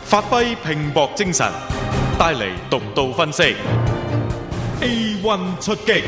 發揮拼搏精神，帶嚟獨到分析。A1 出擊，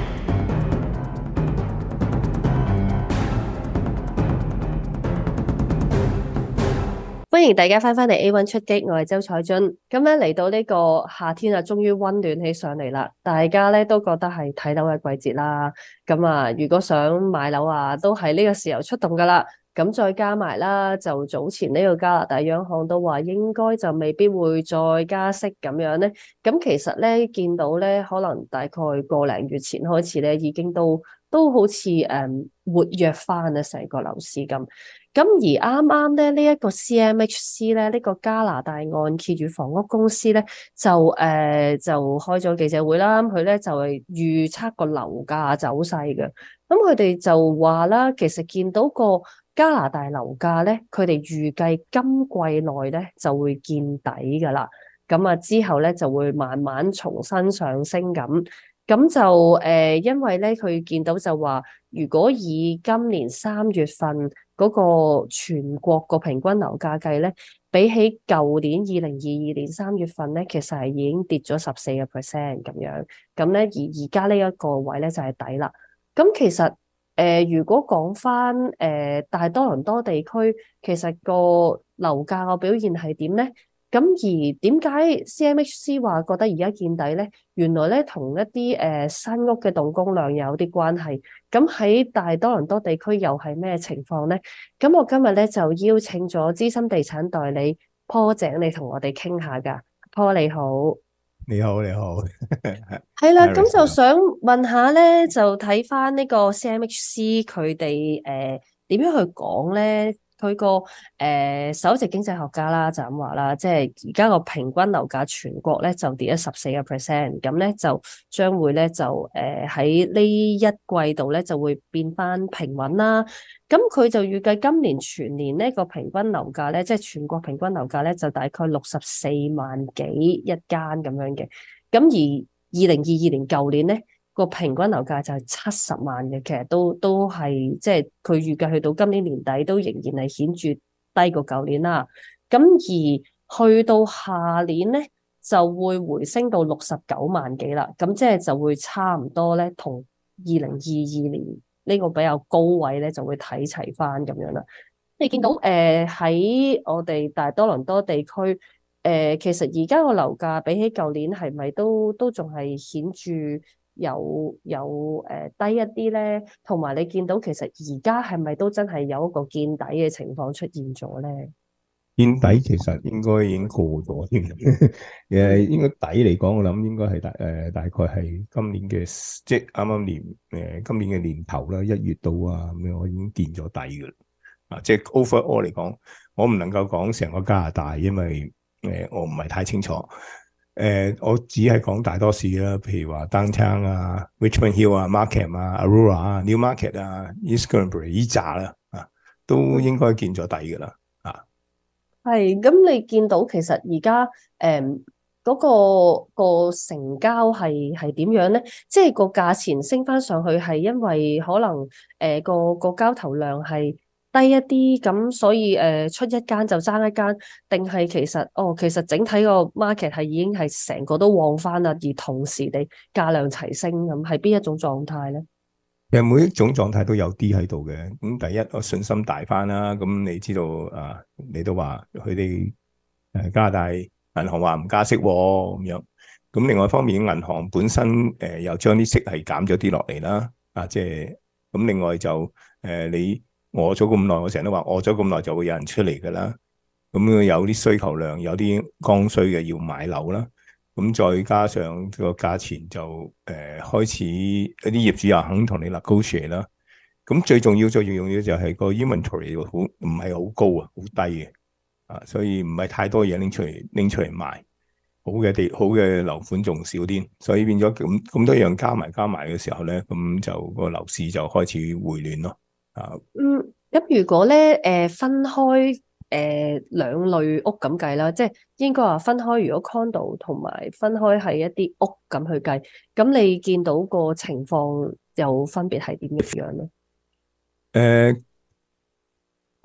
歡迎大家翻返嚟 A1 出擊，我係周彩津。咁咧嚟到呢個夏天啊，終於溫暖起上嚟啦。大家咧都覺得係睇樓嘅季節啦。咁啊，如果想買樓啊，都係呢個時候出動噶啦。咁再加埋啦，就早前呢個加拿大央行都話應該就未必會再加息咁樣咧。咁其實咧見到咧，可能大概個零月前開始咧，已經都好似活躍翻啊，成個樓市咁。咁而啱啱咧呢一個 CMHC 咧，呢個加拿大按揭與房屋公司咧就開咗記者會啦。佢咧就係預測個樓價走勢嘅。咁佢哋就話啦，其實見到個加拿大樓價咧，佢哋預計今季內咧就會見底噶啦。咁啊之後咧就會慢慢重新上升咁。咁就因為咧佢見到就話，如果以今年3月份嗰個全國個平均樓價計咧，比起舊年2022年3月份咧，其實係已經跌咗14% 咁樣。咁咧而家呢一個位咧就係底啦。咁其實如果講翻大多倫多地區，其實個樓價個表現係點咧？咁而點解 CMHC 話覺得而家見底咧？原來咧同一啲新屋嘅動工量有啲關係。咁喺大多倫多地區又係咩情況咧？咁我今日咧就邀請咗資深地產代理坡井嚟同我哋傾下噶。坡你好。 你好，你好， 係啦，咁就想問下咧，就睇翻呢個 CMHC 佢哋點樣去講咧？佢個首席經濟學家啦就咁話啦，即係而家個平均樓價全國咧就跌咗14%，咁咧就將會咧就喺呢一季度咧就會變翻平穩啦。咁佢就預計今年全年呢個平均樓價咧，即係全國平均樓價咧就大概64萬幾一間咁樣嘅。咁而2022年舊年咧個平均樓價就係70萬嘅，其實都係即係佢預計去到今年年底都仍然係顯著低過舊年啦。咁而去到下年咧就會回升到69萬幾啦。咁即係就會差唔多咧同2022年呢個比較高位咧就會睇齊翻咁樣啦。你見到喺我哋大多倫多地區。其實而家個樓價比起舊年係咪都仲係顯著有低一啲咧？同埋你見到其實而家係咪都真係有一個見底嘅情況出現咗咧？ 見底其實應該已經過咗添，應該底嚟講，我諗應該係大概係今年嘅，即係啱啱今年嘅年頭啦，1月到啊咁樣，我已經見咗底噶啦。啊，即係 overall 嚟講，我唔能夠講成個加拿大，因為我唔係太清楚，我只係講大多市啦，譬如話 Downtown 啊、Richmond Hill 啊、Markham 啊、Aurora 啊、Newmarket 啊、East Gwillimbury 呢扎啦，都應該見咗底噶啦， 係，咁你見到其實而家嗰個成交係點樣咧？即係個價錢升翻上去係因為可能個交投量係低一啲，咁所以出一間就爭一間，定係其實整體個 market 係已經係成個都旺翻啦，而同時地價量齊升咁，係邊一種狀態咧？ 其實每一種狀態都有啲喺度嘅。咁第一，我信心大翻啦。咁你知道啊，你都話佢哋加拿大銀行話唔加息咁樣。咁另外一方面，銀行本身又將啲息係減咗啲落嚟啦。即係咁。另外就你餓咗咁耐，我成日都話餓咗咁耐就會有人出嚟噶啦。咁有啲需求量，有啲剛需嘅要買樓啦。咁再加上個價錢就開始一啲業主又肯同你 negotiate 啦。咁最重要就係個 inventory 唔係好高啊，好低嘅所以唔係太多嘢拎出嚟賣。好嘅樓盤仲少啲，所以變咗咁多樣加埋嘅時候咧，咁就個樓市就開始回暖咯。 咁如果咧分開兩類屋咁計啦，即係應該話分開，如果 condo 同埋分開係一啲屋咁去計，咁你見到個情況又分別係點樣咧？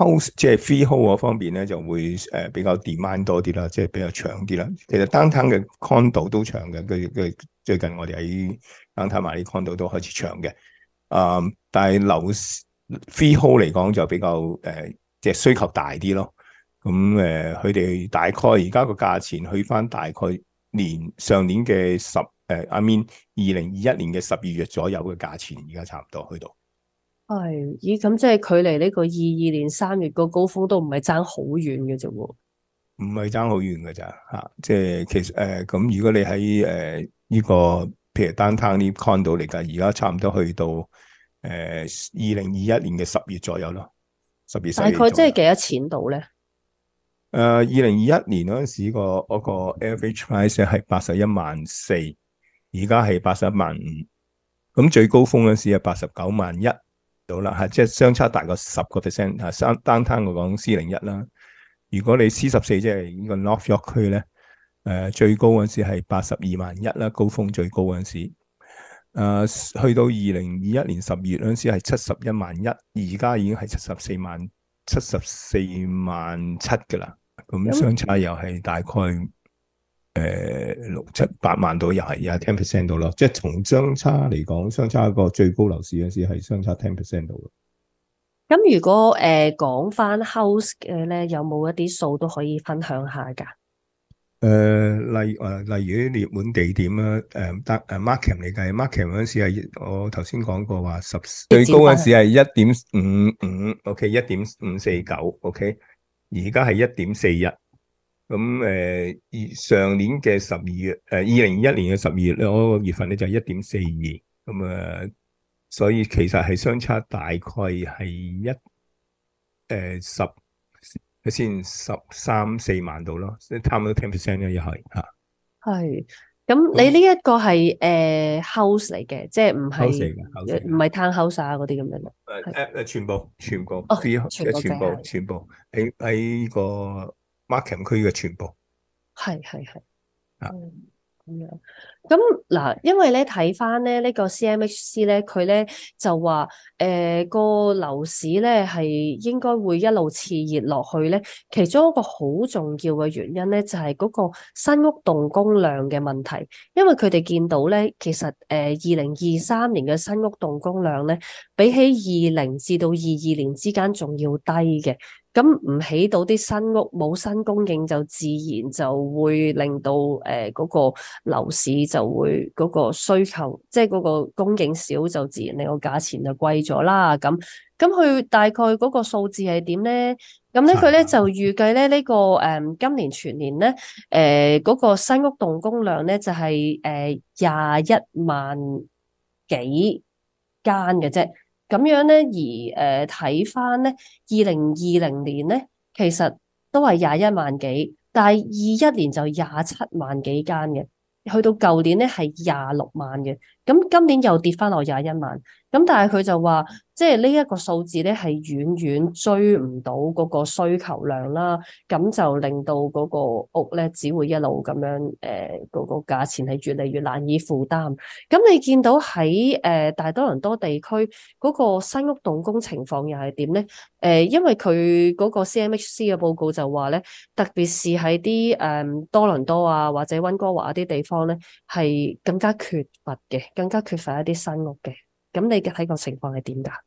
house 即係 freehold 嗰方面咧，就會比較 demand 多啲啦，即係比較長啲啦。其實 downtown 嘅 condo 都長嘅，佢最近我哋喺 downtown 買啲 condo 都開始長嘅。但係樓 freehold 嚟講就比較即係需求大啲咯。咁佢哋大概而家個價錢去翻大概上年嘅2021年嘅12月左右嘅價錢，而家差唔多去到。 係，咦，咁即係距離呢個22年3月個高峰都唔係爭好遠嘅啫喎。 唔係爭好遠嘅咋嚇，即係其實咁如果你喺呢個譬如 downtown 呢 condo 嚟㗎，而家差唔多去到2021年嘅10月左右咯，10月。 大概即係幾多錢到咧 ？2021年嗰陣時嗰個 average price 係81.4萬，而家係81.5萬。咁最高峰嗰陣時係89.1萬到啦嚇，即係相差大過10%嚇。downtown 我講 C01啦。如果你 C14 即係呢個 North York 區咧，最高嗰陣時係82.1萬啦，高峰最高嗰陣時，去到2021年10月嗰陣時係71.1萬，而家已經係74.7㗎啦。咁相差又係大概6-7-8萬到，又係 10% 到咯。即係從相差嚟講，相差個最高樓市嗰陣時係相差 10% 到。 咁如果講翻 house 嘅咧，有冇一啲數都可以分享下㗎？ 例如啲熱門地點啦，Markham 嚟計，Markham 嗰陣時係我頭先講過話最高嗰陣時係1.55，OK 1.549，OK 而家係1.41。咁上年嘅12月，2021年嘅12月咧，嗰個月份咧就係1.42。咁所以其實係相差大概係13-14萬度咯，差唔多 10% 咧，又係嚇。係。 咁你呢一個係house 嚟嘅，即係唔係 townhouse 啊嗰啲咁樣咯？ 全部全部喺個 Markham 區嘅全部。係啊。 咁樣，咁嗱，因為咧睇翻咧呢個 CMHC 咧，佢咧就話個樓市咧係應該會一路熾熱落去咧。其中一個好重要嘅原因咧就係嗰個新屋動工量嘅問題，因為佢哋見到咧，其實2023年嘅新屋動工量咧，比起20至到22年之間仲要低嘅。咁唔起到啲新屋，冇新供應，就自然就會令到嗰個樓市就會嗰個需求，即係嗰個供應少，就自然令個價錢就貴咗啦。咁佢大概嗰個數字係點咧？咁咧佢咧就預計咧呢個今年全年咧嗰個新屋動工量咧就係21萬幾間嘅啫。咁樣咧，而睇翻咧，2020年咧，其實都係21萬幾，但係21年就27萬幾間嘅，去到舊年咧係26萬嘅，咁今年又跌翻落21萬，咁但係佢就話，即係呢一個數字咧係遠遠追唔到嗰個需求量啦，咁就令到嗰個屋咧只會一路咁樣嗰個價錢係越嚟越難以負擔。咁你見到喺大多倫多地區嗰個新屋動工情況又係點咧？因為佢嗰個 CMHC 嘅報告就話咧，特別是喺啲多倫多啊或者溫哥華啲地方咧，係更加缺乏嘅，更加缺乏一啲新屋嘅。咁你嘅睇個情況係點㗎？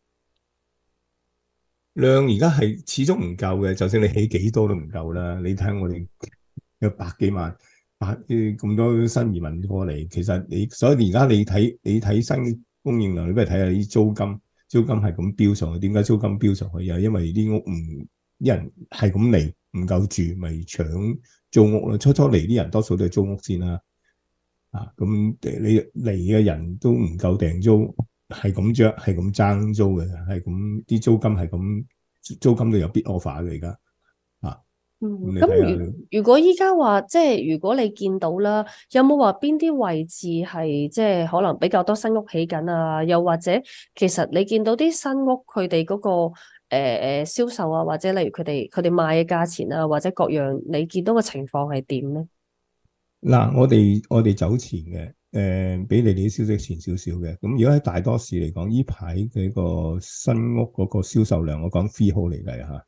量而家係始終唔夠嘅，就算你起幾多都唔夠啦。你睇我哋有百幾萬，咁多新移民過嚟，其實所以而家你睇新供應量，你不如睇下啲租金係咁飆上去。點解租金飆上去？又因為啲屋啲人係咁嚟，唔夠住，咪搶租屋咯。初嚟啲人多數都係租屋先啦。咁你嚟嘅人都唔夠訂租。係咁爭租嘅，係咁啲租金係咁，租金都有 bid offer 嘅而家。 咁如果依家話，即係如果你見到啦，有冇話邊啲位置係即係可能比較多新屋起緊啊？又或者其實你見到啲新屋佢哋嗰個銷售啊，或者例如佢哋賣嘅價錢啊，或者各樣你見到嘅情況係點咧？ 嗱，我哋走前嘅。比你哋啲消息前少少嘅，咁如果喺大多市嚟講，呢排嘅個新屋嗰個銷售量，我講 freehold 嚟計嚇，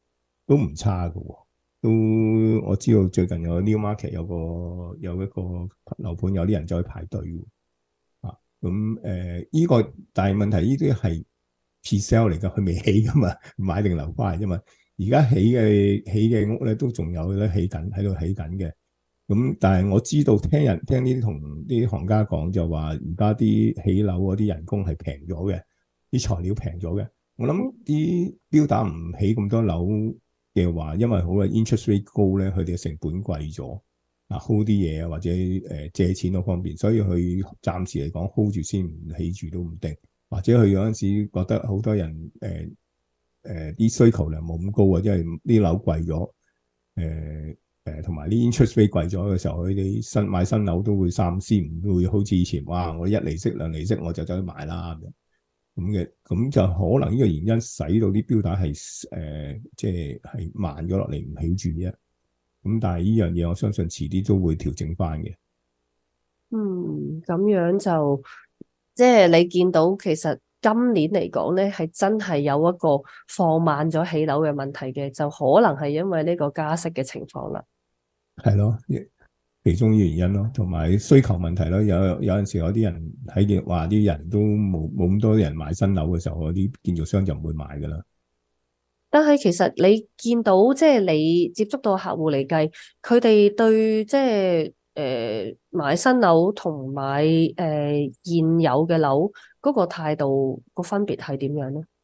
都唔差㗎喎。都我知道最近有 Newmarket 有一個樓盤，有啲人走去排隊喎。咁呢個但係問題呢啲係 pre-sale 嚟㗎，佢未起㗎嘛，買定樓花啫嘛。而家起嘅屋咧都仲有咧喺度起緊嘅。咁但係我知道聽呢啲同啲行家講就話，而家啲起樓嗰啲人工係平咗嘅，啲材料平咗嘅。我諗啲標打唔起咁多樓嘅話，因為好嘅 interest rate 高咧，佢哋嘅成本貴咗，hold 啲嘢啊或者借錢嗰方面，所以佢暫時嚟講 hold 住先，唔起住都唔定，或者佢有陣時覺得好多人啲需求量冇咁高啊，因為啲樓貴咗，同埋啲 interest rate 貴咗嘅時候，佢哋買新樓都會三思，唔會好似以前哇，我一厘息兩厘息我就走去買啦咁就可能呢個原因使到啲標打係即係慢咗落嚟，唔起住啫。咁但係呢樣嘢我相信遲啲都會調整翻嘅。 咁樣就即係你見到其實今年嚟講咧，係真係有一個放慢咗起樓嘅問題嘅，就可能係因為呢個加息嘅情況啦。 係咯，其中嘅原因咯，同埋需求問題咯。有陣時有啲人喺話啲人都冇咁多人買新樓嘅時候，嗰啲建造商就唔會買噶啦。 但係其實你見到即係你接觸到客戶嚟計，佢哋對即係買新樓同買現有嘅樓嗰個態度個分別係點樣咧？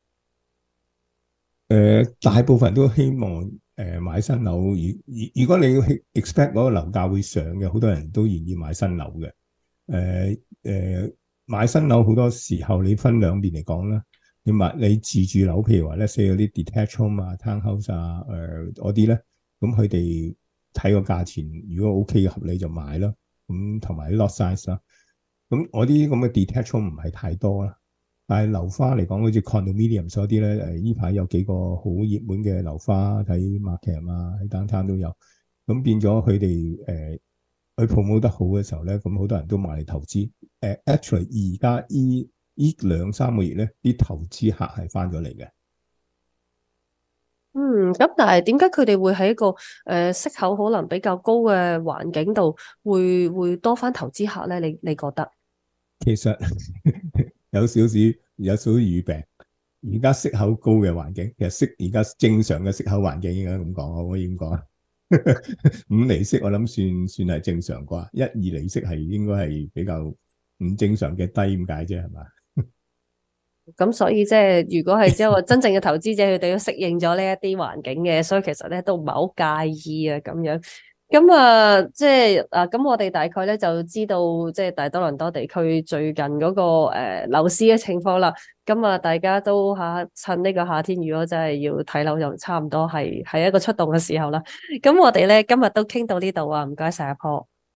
大部分人都希望買新樓。如果你要 expect 嗰個樓價會上嘅，好多人都願意買新樓嘅。買新樓好多時候你分兩邊嚟講啦。你自住樓，譬如話咧，寫嗰啲 detached home 啊、townhouse 啊，嗰啲咧，咁佢哋睇個價錢，如果 OK 合理就買啦。咁同埋 lot size 啦。咁我啲咁嘅 detached home 唔係太多啦。但係樓花嚟講，好似 condominium 嗰啲咧，呢排有幾個好熱門嘅樓花喺 market 啊，喺 downtown 都有。咁變咗佢哋佢 promote 得好嘅時候咧，咁好多人都買嚟投資。actually 而家呢2-3個月咧，啲投資客係翻咗嚟嘅。 咁但係點解佢哋會喺一個息口可能比較高嘅環境度會多翻投資客咧？你覺得？ 其實有少少語病。而家息口高嘅環境，其實而家正常嘅息口環境應該咁講，可唔可以咁講啊？5厘息我諗算係正常啩，1-2厘息係應該係比較唔正常嘅低咁解啫，係嘛？ 咁所以即係如果係只有真正嘅投資者，佢哋都適應咗呢一啲環境嘅，所以其實咧都唔係好介意啊咁樣。咁即係咁我哋大概咧就知道即係大多倫多地區最近嗰個樓市嘅情況啦。咁大家都趁呢個夏天，如果真係要睇樓，就差唔多係一個出動嘅時候啦。咁我哋咧今日都傾到呢度啊，唔該晒阿 Paul。